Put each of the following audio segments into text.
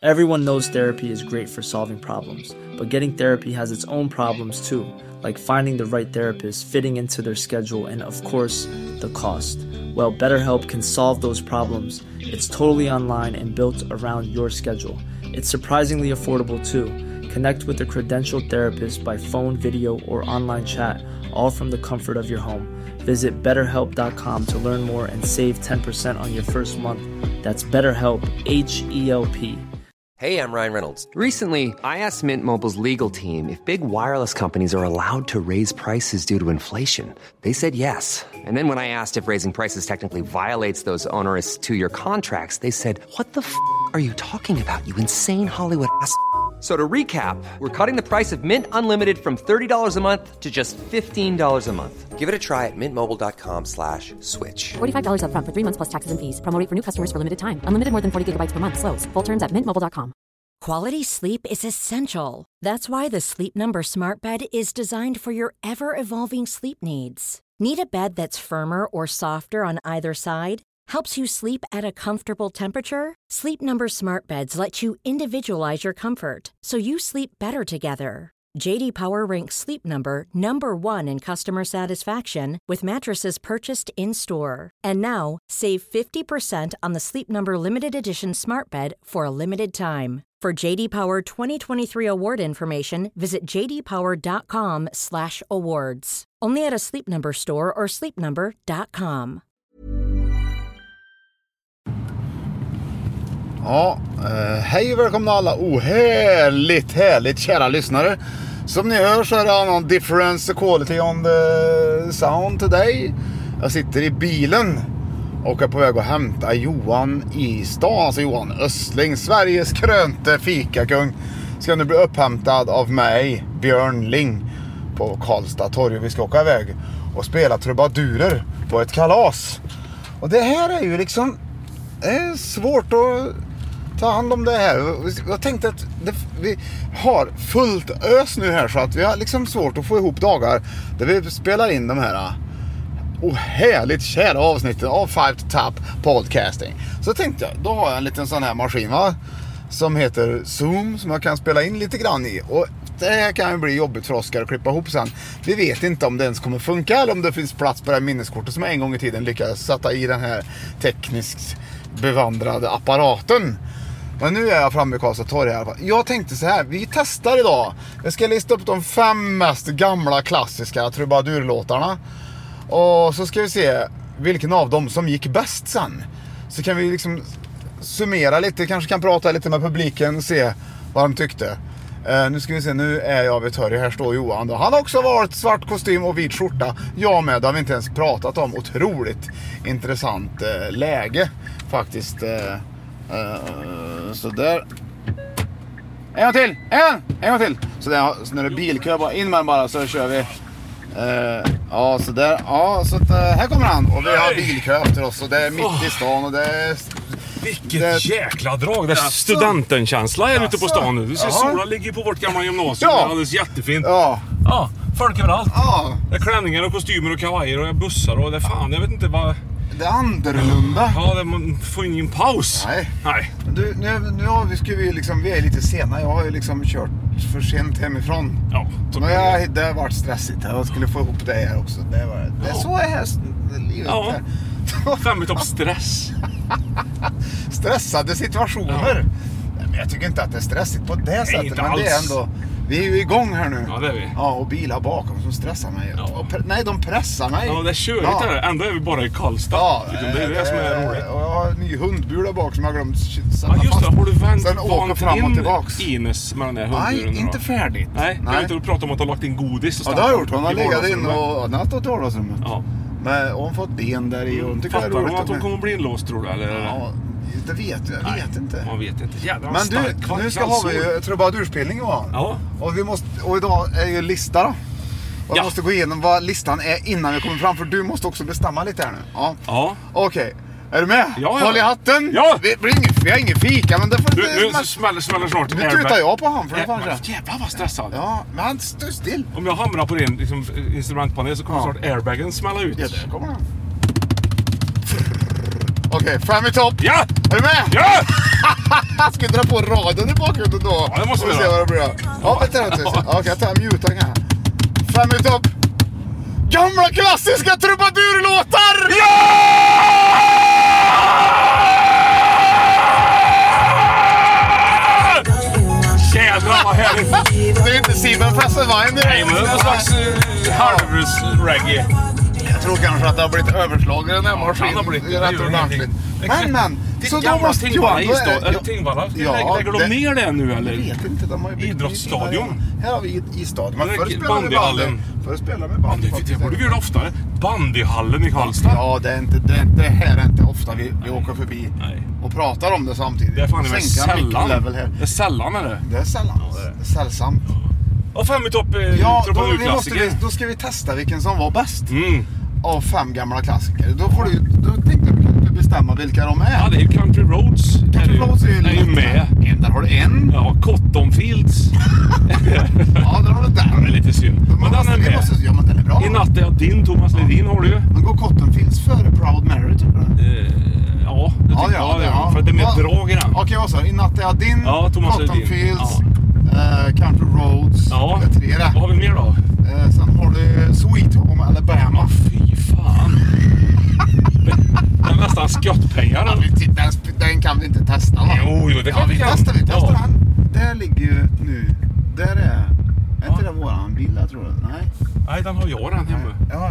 Everyone knows therapy is great for solving problems, but getting therapy has its own problems too, like finding the right therapist, fitting into their schedule, and of course, the cost. Well, BetterHelp can solve those problems. It's totally online and built around your schedule. It's surprisingly affordable too. Connect with a credentialed therapist by phone, video, or online chat, all from the comfort of your home. Visit BetterHelp.com to learn more and save 10% on your first month. That's BetterHelp, H-E-L-P. Hey, I'm Ryan Reynolds. Recently, I asked Mint Mobile's legal team if big wireless companies are allowed to raise prices due to inflation. They said yes. And then when I asked if raising prices technically violates those onerous two-year contracts, they said, "What the f*** are you talking about, you insane Hollywood ass?" So to recap, we're cutting the price of Mint Unlimited from $30 a month to just $15 a month. Give it a try at mintmobile.com/switch. $45 up front for 3 months plus taxes and fees. Promo rate for new customers for limited time. Unlimited more than 40 gigabytes per month. Slows full terms at mintmobile.com. Quality sleep is essential. That's why the Sleep Number Smart Bed is designed for your ever-evolving sleep needs. Need a bed that's firmer or softer on either side? Helps you sleep at a comfortable temperature? Sleep Number Smart Beds let you individualize your comfort, so you sleep better together. J.D. Power ranks Sleep Number #1 in customer satisfaction with mattresses purchased in-store. And now, save 50% on the Sleep Number Limited Edition Smart Bed for a limited time. For J.D. Power 2023 award information, visit jdpower.com/awards. Only at a Sleep Number store or sleepnumber.com. Ja, hej och välkomna alla härligt kära lyssnare. Som ni hör så är det annan difference quality on the sound today. Jag sitter i bilen och är på väg att hämta Johan i stan. Alltså Johan Östling, Sveriges krönte fikakung, ska nu bli upphämtad av mig, Björn Ling, på Karlstad torg. Vi ska åka iväg och spela trubadurer på ett kalas. Och det här är ju liksom, det är svårt att ta hand om det här. Jag tänkte att vi har fullt ös nu här, så att vi har liksom svårt att få ihop dagar där vi spelar in de här härligt kära avsnitten av Five to Top Podcasting. Så tänkte jag, då har jag en liten sån här maskin, va, som heter Zoom, som jag kan spela in lite grann i. Och det här kan ju bli jobbigt för Oskar att klippa ihop sen. Vi vet inte om det ens kommer funka, eller om det finns plats på det här minneskortet som jag en gång i tiden lyckades sätta i den här tekniskt bevandrade apparaten. Men nu är jag framme i Karlstad torg i alla fall. Jag tänkte så här, vi testar idag. Jag ska lista upp de 5 mest gamla klassiska trubadurlåtarna. Och så ska vi se vilken av dem som gick bäst sen. Så kan vi liksom summera lite, kanske kan prata lite med publiken och se vad de tyckte. Nu ska vi se, nu är jag vid torg. Här står Johan då. Han har också varit svart kostym och vit skjorta. Jag med, det har vi inte ens pratat om. Otroligt intressant läge faktiskt. Så där. En gång till. En gång till. Så där, så när det är bilkö, bara in med den bara, så kör vi. Ja, så där. Ja, så att, här kommer han. Och vi har bilkö efter oss. Och det är mitt i stan. Och det är... Vilket jäkla drag. Det är studentenkänsla här ute på stan nu. Du ser, solen ligger på vårt gamla gymnasium. Ja. Det är alldeles jättefint. Ja. Ja, folk överallt. Ja. Det är klänningar och kostymer och kavajer och bussar och det är fan, jag vet inte vad... Det är annorlunda. Ja, man får ingen paus. Nej. Du, nu har vi liksom, vi är lite sena. Jag har ju liksom kört för sent hemifrån. Ja. Det har varit stressigt. Jag skulle få ihop det här också. Det är så är här livet. Ja. 5 topp stress. Stressade situationer. Ja. Men jag tycker inte att det är stressigt på det sättet. Men det är ändå... Vi är ju igång här nu. Ja, det är vi. Ja, och bilar bakom som stressar mig. Ja. Nej, de pressar mig. Ja, det är körigt här. Ändå är vi bara i Karlstad. Ja, det är det som är roligt. Och jag har en ny hundbur där bak som jag har glömt sätta fast. Ja, just det. Har du vänt fram och tillbaks Ines med den där hundburen? Nej, inte färdigt. Nej. Jag vet inte, du pratar om att du har lagt in godis. Ja, det har jag gjort. Hon har legat in och hon har stått i vardagsrummet. Ja. Men hon har fått ben där i. Och fattar hon att hon kommer bli inlåst, tror du? Eller? Ja, det vet jag. Jag vet inte. Man vet inte. Jävlar, men du, nu ska vi ju trubadurspelning, Johan. Ja. Och idag är ju lista då. Och jag måste gå igenom vad listan är innan vi kommer fram. För du måste också bestämma lite här nu. Ja. Okej. Är du med? Ja. Håll i hatten. Ja. Vi har ingen fika, men det får du smäller snart. Nu tutar jag på han för det fanns. Jävlar vad stressad. Ja, men han står still. Om jag hamrar på din liksom, instrumentpanel så kommer snart airbagen smälla ut. Ja, där kommer han. Okej, 5 i topp. Ja! Är du med? Ja! Ska vi dra på radion i bakgrunden då? Ja, det måste vi se göra. vad det blir. Ja, vänta. Okej, jag tar mutan här. 5 i topp. Gamla klassiska trubadurlåtar! Jävlar vad härligt! Det är inte Simon Fesselwein. Nej, men det är någon slags halvrus-reggae. Jag tror kanske att det har blivit överslagen den maskin. Han har blivit det. Rätt ordentligt. Men. Så då måste Tingvalla Johan... isstad, eller Tingvalla. Lägger de ner det nu eller? Jag vet inte. De har ju Idrottsstadion. Här har vi isstadion. Men förr spelade vi bandyhallen. Förr spelade vi bandy. Det borde vi göra oftare. Bandyhallen i Karlstad. Ja, det här är inte ofta vi åker förbi. Nej. Och pratar om det samtidigt. Det är fan sällan. Det är sällan är det. Det är sällan. Det är sällsamt. Och 5 i topp Ja, då ska vi testa vilken som var bäst. Av 5 gamla klassiker. Då tänkte jag att du bestämma vilka de är. Ja, det är Country Roads. Country Roads är ju med. Där har du en. Ja, Cotton Fields. Ja, där har du den. Det är lite synd. Men den är med. Ja, men den är bra. I natt är din Thomas Ledin har du ju. Men går Cotton Fields före Proud Mary tycker du? Ja, det tycker jag. Ja. För att det är mer drag i den. Okej, vad sa du? I natt är din. Ja, Thomas Cotton Ledin. Fields. Country Roads. Ja. Det är 3 där. Vad har vi mer då? Sen har du Sweet Home Alabama. Fy fan. Det är nästan skottpengar. Ja, den kan vi inte testa, va? Jo, det kan vi. Vi testar den. Där ligger ju nu. Där är inte det våran bil, jag tror det. Nej, den har jag den hemma. Ja.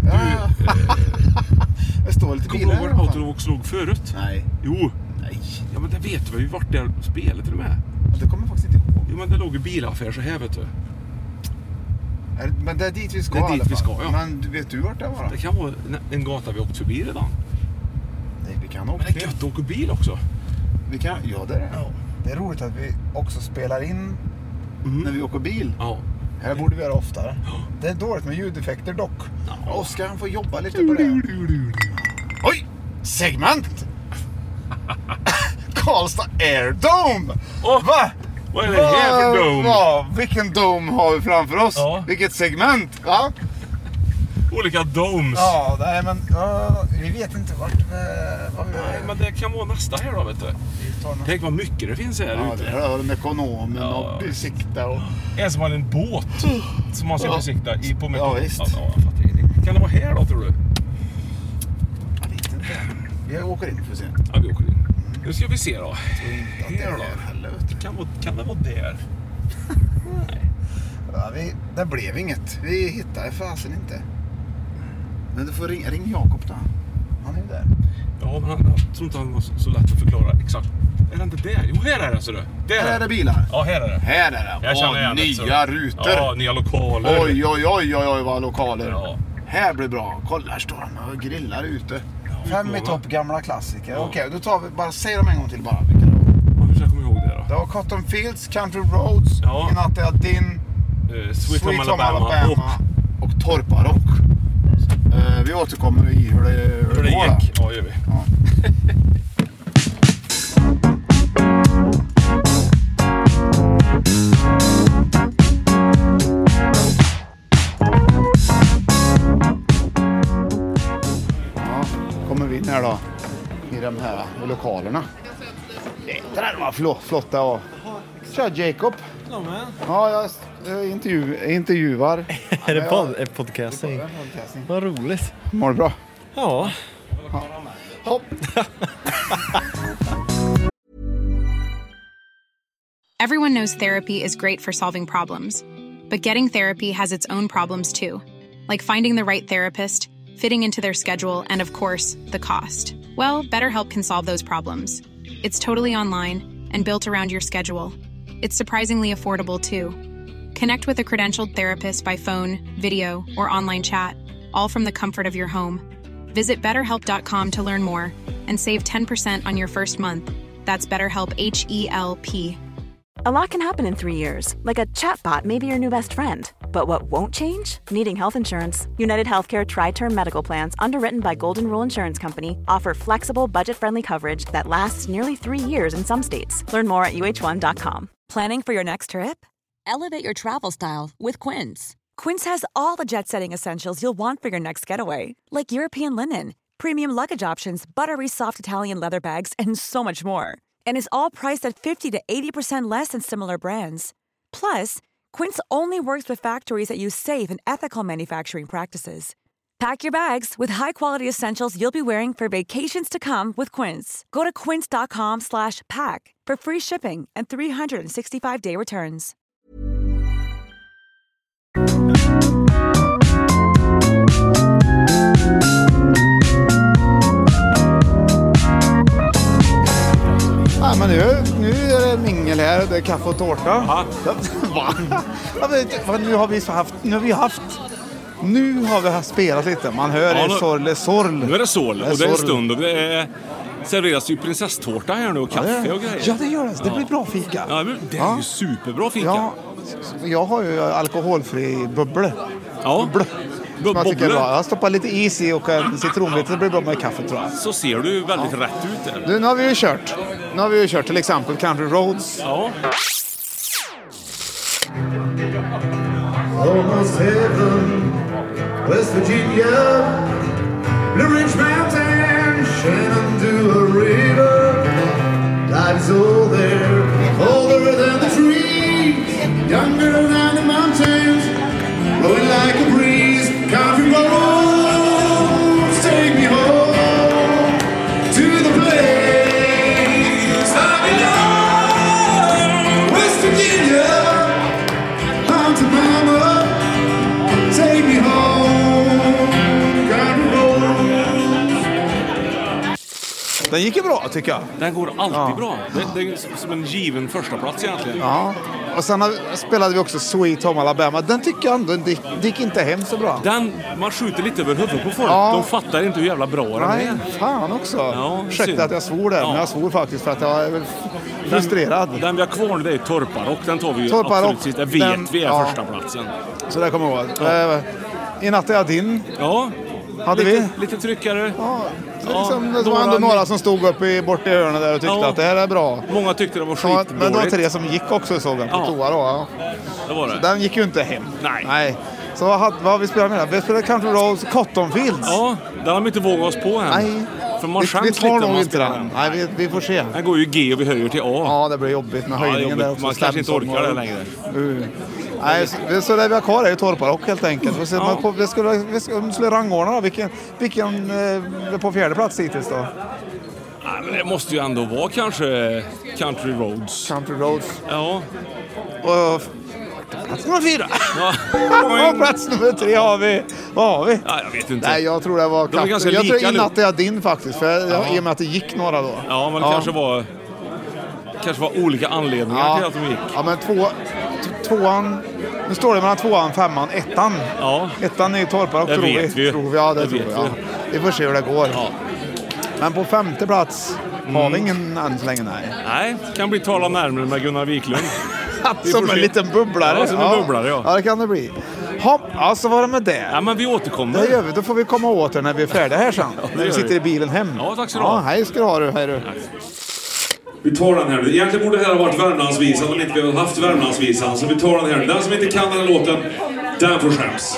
Det står lite bilar. Kommer du ihåg Autovox låg förut? Nej. Jo. Nej. Ja, men det vet vi ju vart det spelet till och med. Det kommer jag faktiskt inte ihåg. Jo, men det låg ju bilaffär så här, vet du. Men det är dit vi ska. Det är dit vi ska, ja. Men vet du vart det var? Det kan vara en gata vi åkt förbi redan. Nej, vi kan åka. Men det är gött att åka bil också. Vi kan, ja, det är det. Ja. Det är roligt att vi också spelar in när vi åker bil. Ja. Här borde vi göra oftare. Det är dåligt med ljudeffekter dock. Oskar han får jobba lite på det. Oj! Segment! Karlstad Air Dome! Va? Vad är det här för dome? Vilken dome har vi framför oss? Ja. Vilket segment? Va? Olika domes. Ja, nej men vi vet inte vart vad vi Nej, men det kan vara nästa här då, vet du. Tänk vad mycket det finns här ute. Ja, det är en ekonomen och besikta och... En som har en båt som man ska besikta på mycket. Ja, visst. Ja, jag fattar ingenting. Kan det vara här då, tror du? Jag vet inte. Vi åker in för att se. Ja, vi åker in. Nu ska vi se då. Här då. Kan det vara där? Nej. Ja, det blev inget. Vi hittade fasen inte. Men du får ring Jakob då. Han är ju där. Ja, men jag tror inte han var så lätt att förklara exakt. Är det inte där? Jo, här är det, så du. Här är det bilar. Ja, här är det. Här är det. Jag känner igen nya rutor. Ja, nya lokaler. Oj, vad lokaler. Ja. Här blir bra. Kolla, här står han och grillar ute. Ja, 5 i topp gamla klassiker. Ja. Okej, då tar vi bara, säg dem en gång till bara. Vilka då? Ja, hur ska jag komma ihåg det då? Det var Cotton Fields, Country Roads, Ja. I natt är din, Sweet Home Alabama och Torpa Rock. Vi återkommer i hur det hur det går. gick. Ja, gör vi. Ja. Kommer vi in här då i de här lokalerna. Det där var flotta och tja Jacob. Ja, jag intervjuar. Är det podcasting? Vad roligt. Mår du bra? Ja. Hopp. Everyone knows therapy is great for solving problems. But getting therapy has its own problems too. Like finding the right therapist, fitting into their schedule, and of course, the cost. Well, BetterHelp can solve those problems. It's totally online and built around your schedule. It's surprisingly affordable too. Connect with a credentialed therapist by phone, video, or online chat, all from the comfort of your home. Visit BetterHelp.com to learn more and save 10% on your first month. That's BetterHelp, H-E-L-P. A lot can happen in 3 years, like a chatbot may be your new best friend. But what won't change? Needing health insurance. United Healthcare Tri-Term Medical Plans, underwritten by Golden Rule Insurance Company, offer flexible, budget-friendly coverage that lasts nearly 3 years in some states. Learn more at uh1.com. Planning for your next trip? Elevate your travel style with Quince. Quince has all the jet-setting essentials you'll want for your next getaway, like European linen, premium luggage options, buttery soft Italian leather bags, and so much more. And is all priced at 50 to 80% less than similar brands. Plus, Quince only works with factories that use safe and ethical manufacturing practices. Pack your bags with high-quality essentials you'll be wearing for vacations to come with Quince. Go to quince.com/pack for free shipping and 365-day returns. Ja, men nu är det mingel här, det är kaffe och tårta. Ja. Nu har vi spelat lite. Man hör sorl. Nu är det sorl och det är en stund och det är serveras ju prinsesstårta här nu och kaffe och grejer. Ja, det gör det. Det blir bra fika. Ja, det är ju superbra fika. Ja, jag har ju alkoholfri bubble. Ja. Jag stoppar lite is i och en citronbit, så blir det bra med kaffe, tror jag. Så ser du väldigt rätt ut där. Du, nu har vi ju kört till exempel Country Roads. Ja. Almost heaven, West Virginia, Blue Ridge Mountain, Shenandoah River. Life's all there, older than the trees, younger than the mountains, blowing like a breeze. Country roads, take me home to the place I belong. West Virginia, mountain mama, take me home. Country roads. Den gick ju bra, tycker jag. Den går alltid bra. Det är som en given första plats egentligen. Ja. Och sen spelade vi också Sweet Home Alabama. Den tycker jag ändå det gick inte hem så bra. Man skjuter lite över huvudet på folk. Ja. De fattar inte hur jävla bra den är. Nej, fan också. Ja, ursäkta att jag svor där, men jag svor faktiskt för att jag är frustrerad. Den vi har kvar nu, det är Torparrock. Den tar vi ju absolut sist. Det vet vi är första platsen. Så det kommer jag ihåg. Ja. I natt är jag din. Ja. Hade vi? Lite tryckare. Ja. Liksom, det var ändå några som stod uppe bort i hörnet där och tyckte att det här är bra. Många tyckte det var skitdåligt. Men det var 3 som gick också, såg jag på toa då. Ja. Det var det. Så den gick ju inte hem. Nej. Så vad har vi spelat med? Vi spelade Country Roads, Cotton Fields. Ja, den har vi inte vågat oss på än. Nej. För man vi tar nog inte den. Nej, vi får se. Den går ju G och vi höjer till A. Ja, det blir jobbigt med höjningen där också. Man kanske inte orkar det längre. Nej, så det vi har kvar är ju Torparrock helt enkelt. Vi skulle rangordna då. Vilken är på 4:e plats hittills då? Nej, men det måste ju ändå vara kanske Country Roads. Country Roads. Ja. Och plats nummer 4. Ja. Plats nummer 3 har vi. Vad har vi? Ja, jag vet inte. Nej, jag tror det var de är ganska jag lika tror i natt är jag din faktiskt. För i och med att det gick några då. Ja, men det kanske var olika anledningar till att de gick. Ja, men tvåan. Nu står det mellan 2an, 5an, 1an. Ja. 1an är ju Torparrock, tror vi. Ja, det tror vi. Ja. Vi får se hur det går. Ja. Men på 5:e plats har vi ingen än så länge, Nej, kan bli tala närmare med Gunnar Wiklund. Som en liten bubblare. Ja, som en bubblare, ja. Ja, det kan det bli. Ja, så var det med det. Ja, men vi återkommer. Det gör vi. Då får vi komma åter när vi är färdiga här sen. När vi sitter i bilen hem. Ja, tack så du ha. Hej ska du ha, hej du. Vi tar den här. Egentligen borde det här ha varit Värmlandsvisan om inte vi hade haft Värmlandsvisan. Så vi tar den här. Den som inte kan den här låten, den får skäms.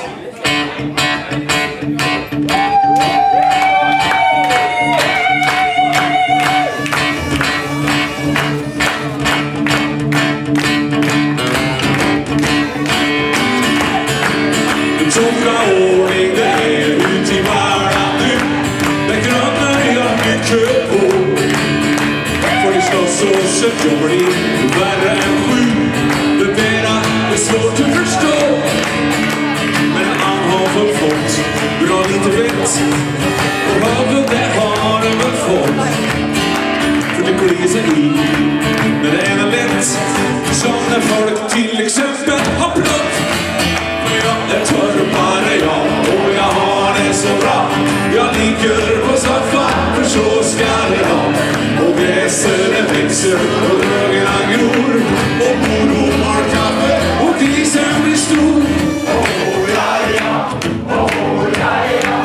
Stora ordning, det är ut i världen nu. Det gröna jag mycket på. Får ni slåss och så jobbar ni värre än 7. Det mera är svårt att förstå. Men han har väl fått bra lite rätt. Och högre det har han väl fått. För det går sig i när det är lätt. Som när folk till exempel har blött. Jag är torpare och jag har det så bra. Jag ligger på soffan, för så ska det vara. Och gräset växer och drögarna gror. Och mor har kaffe och grisen blir stor. Oh, ja, ja. Oh, ja, ja.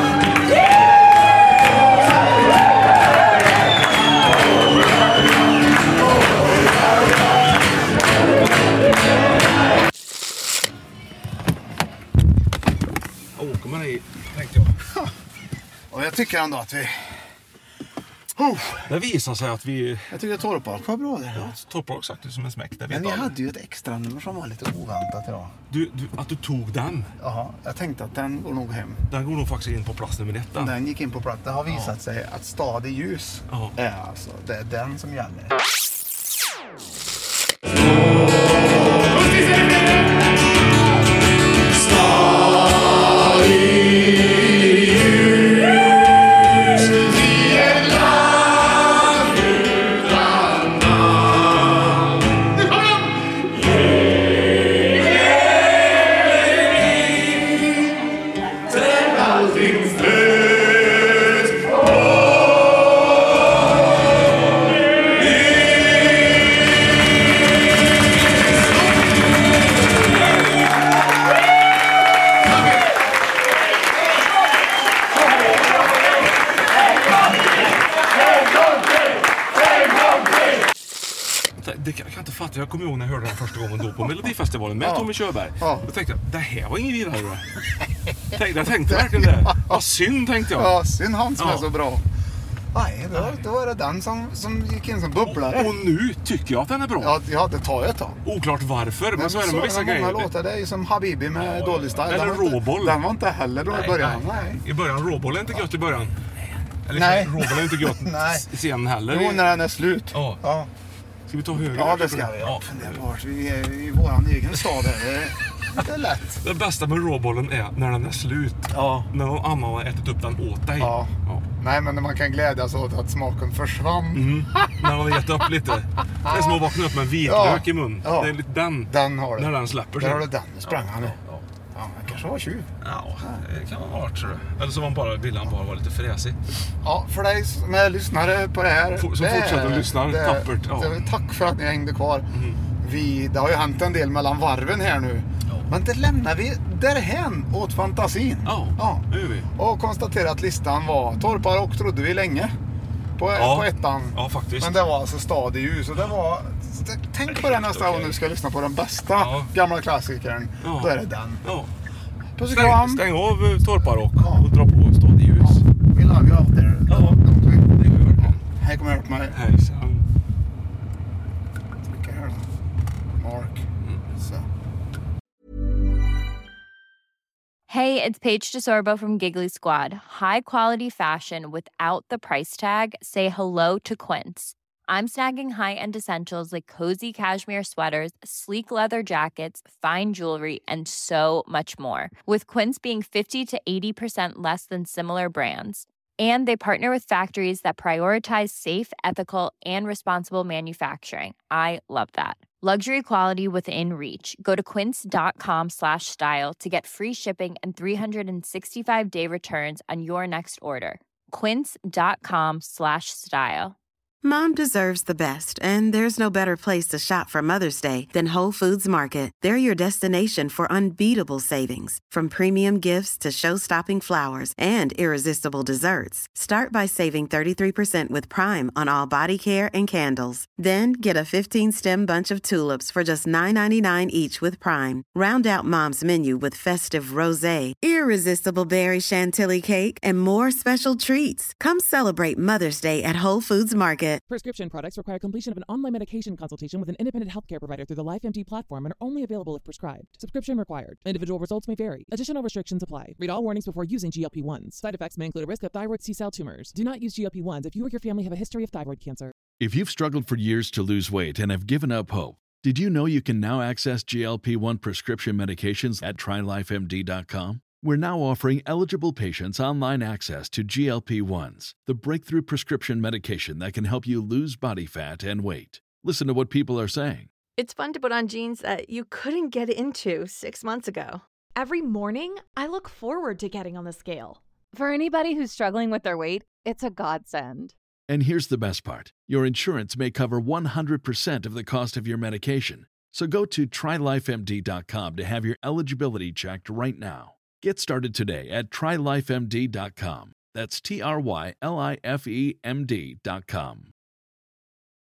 tycker jag ändå att vi... Det visar sig att vi... Jag tycker att Torpark var bra där. Ja, Torpark sagt det som en smäck. Men ni hade ju ett extra nummer som var lite oväntat idag. Att du tog den? Ja, jag tänkte att den går nog hem. Den går nog faktiskt in på plats nummer 1. Den gick in på plats. Det har visat sig att Stad i ljus är alltså, det är den som gäller. Jag kan inte fatta, jag kommer ihåg när jag hörde den första gången då på Melodifestivalen med Tommy Körberg. Då tänkte jag, det här var ingen vidare. Jag tänkte verkligen det. Vad synd, tänkte jag. Ja, synd han som är så bra. Nej, då var det den som gick in som bubblare. Och nu tycker jag att den är bra. Ja, det tar ett tag. Oklart varför, men så är det med vissa grejer. Många låtar, det är ju som Habibi med Dålig Style. Eller Råboll. Den var inte heller då i början. Nej. I början, Råboll är inte gött i början. Eller nej. Råboll är inte gött i scenen heller. Jo, när den är slut. Ja. Ska vi ta höger? Ja, det ska vi. Ja. Vi är i våran egen stad här. Det är lätt. Det bästa med råbollen är när den är slut. Ja. När någon annan har ätit upp den åt dig. Ja. Nej, men man kan glädjas åt att smaken försvann. När man har gett upp lite. Det är som att vakna upp med en vitlök i mun. Ja. Det är lite den har du. När den släpper sig. Där har du den. Nu sprang han nu. Ja, han kanske var tjuv. Ja, det kan ha varit, tror du. Eller så ville han bara vara lite fräsig. Ja, för dig som är lyssnare på det här. Som fortsätter lyssna tappert. Ja. Tack för att ni hängde kvar. Det har ju hänt en del mellan varven här nu. Men det lämnar vi därhän åt fantasin. Ja, det gör vi. Och konstaterar att listan var Torpark, trodde vi länge. På ettan. Ja, faktiskt. Men det var alltså Stad i ljus. Och det var... Tänk på det nästa gång du ska lyssna på den bästa gamla klassikern. Då är det den. Ja. Stäng av Torpark och dra på Stad i ljus. We love you out there. Ja, det gör vi. Hej, kom här på mig. Hejsan. Vilka här då? Mark. Så. Hey, it's Paige DeSorbo from Giggly Squad. High quality fashion without the price tag. Say hello to Quince. I'm snagging high-end essentials like cozy cashmere sweaters, sleek leather jackets, fine jewelry, and so much more. With Quince being 50 to 80% less than similar brands. And they partner with factories that prioritize safe, ethical, and responsible manufacturing. I love that. Luxury quality within reach. Go to quince.com/style to get free shipping and 365-day returns on your next order. Quince.com/style. Mom deserves the best, and there's no better place to shop for Mother's Day than Whole Foods Market. They're your destination for unbeatable savings, from premium gifts to show-stopping flowers and irresistible desserts. Start by saving 33% with Prime on all body care and candles. Then get a 15-stem bunch of tulips for just $9.99 each with Prime. Round out Mom's menu with festive rosé, irresistible berry chantilly cake, and more special treats. Come celebrate Mother's Day at Whole Foods Market. Prescription products require completion of an online medication consultation with an independent healthcare provider through the LifeMD platform and are only available if prescribed. Subscription required. Individual results may vary. Additional restrictions apply. Read all warnings before using GLP-1s. Side effects may include a risk of thyroid C-cell tumors. Do not use GLP-1s if you or your family have a history of thyroid cancer. If you've struggled for years to lose weight and have given up hope, did you know you can now access GLP-1 prescription medications at TryLifeMD.com? We're now offering eligible patients online access to GLP-1s, the breakthrough prescription medication that can help you lose body fat and weight. Listen to what people are saying. It's fun to put on jeans that you couldn't get into 6 months ago. Every morning, I look forward to getting on the scale. For anybody who's struggling with their weight, it's a godsend. And here's the best part. Your insurance may cover 100% of the cost of your medication. So go to TryLifeMD.com to have your eligibility checked right now. Get started today at TryLifeMD.com. That's TryLifeMD.com.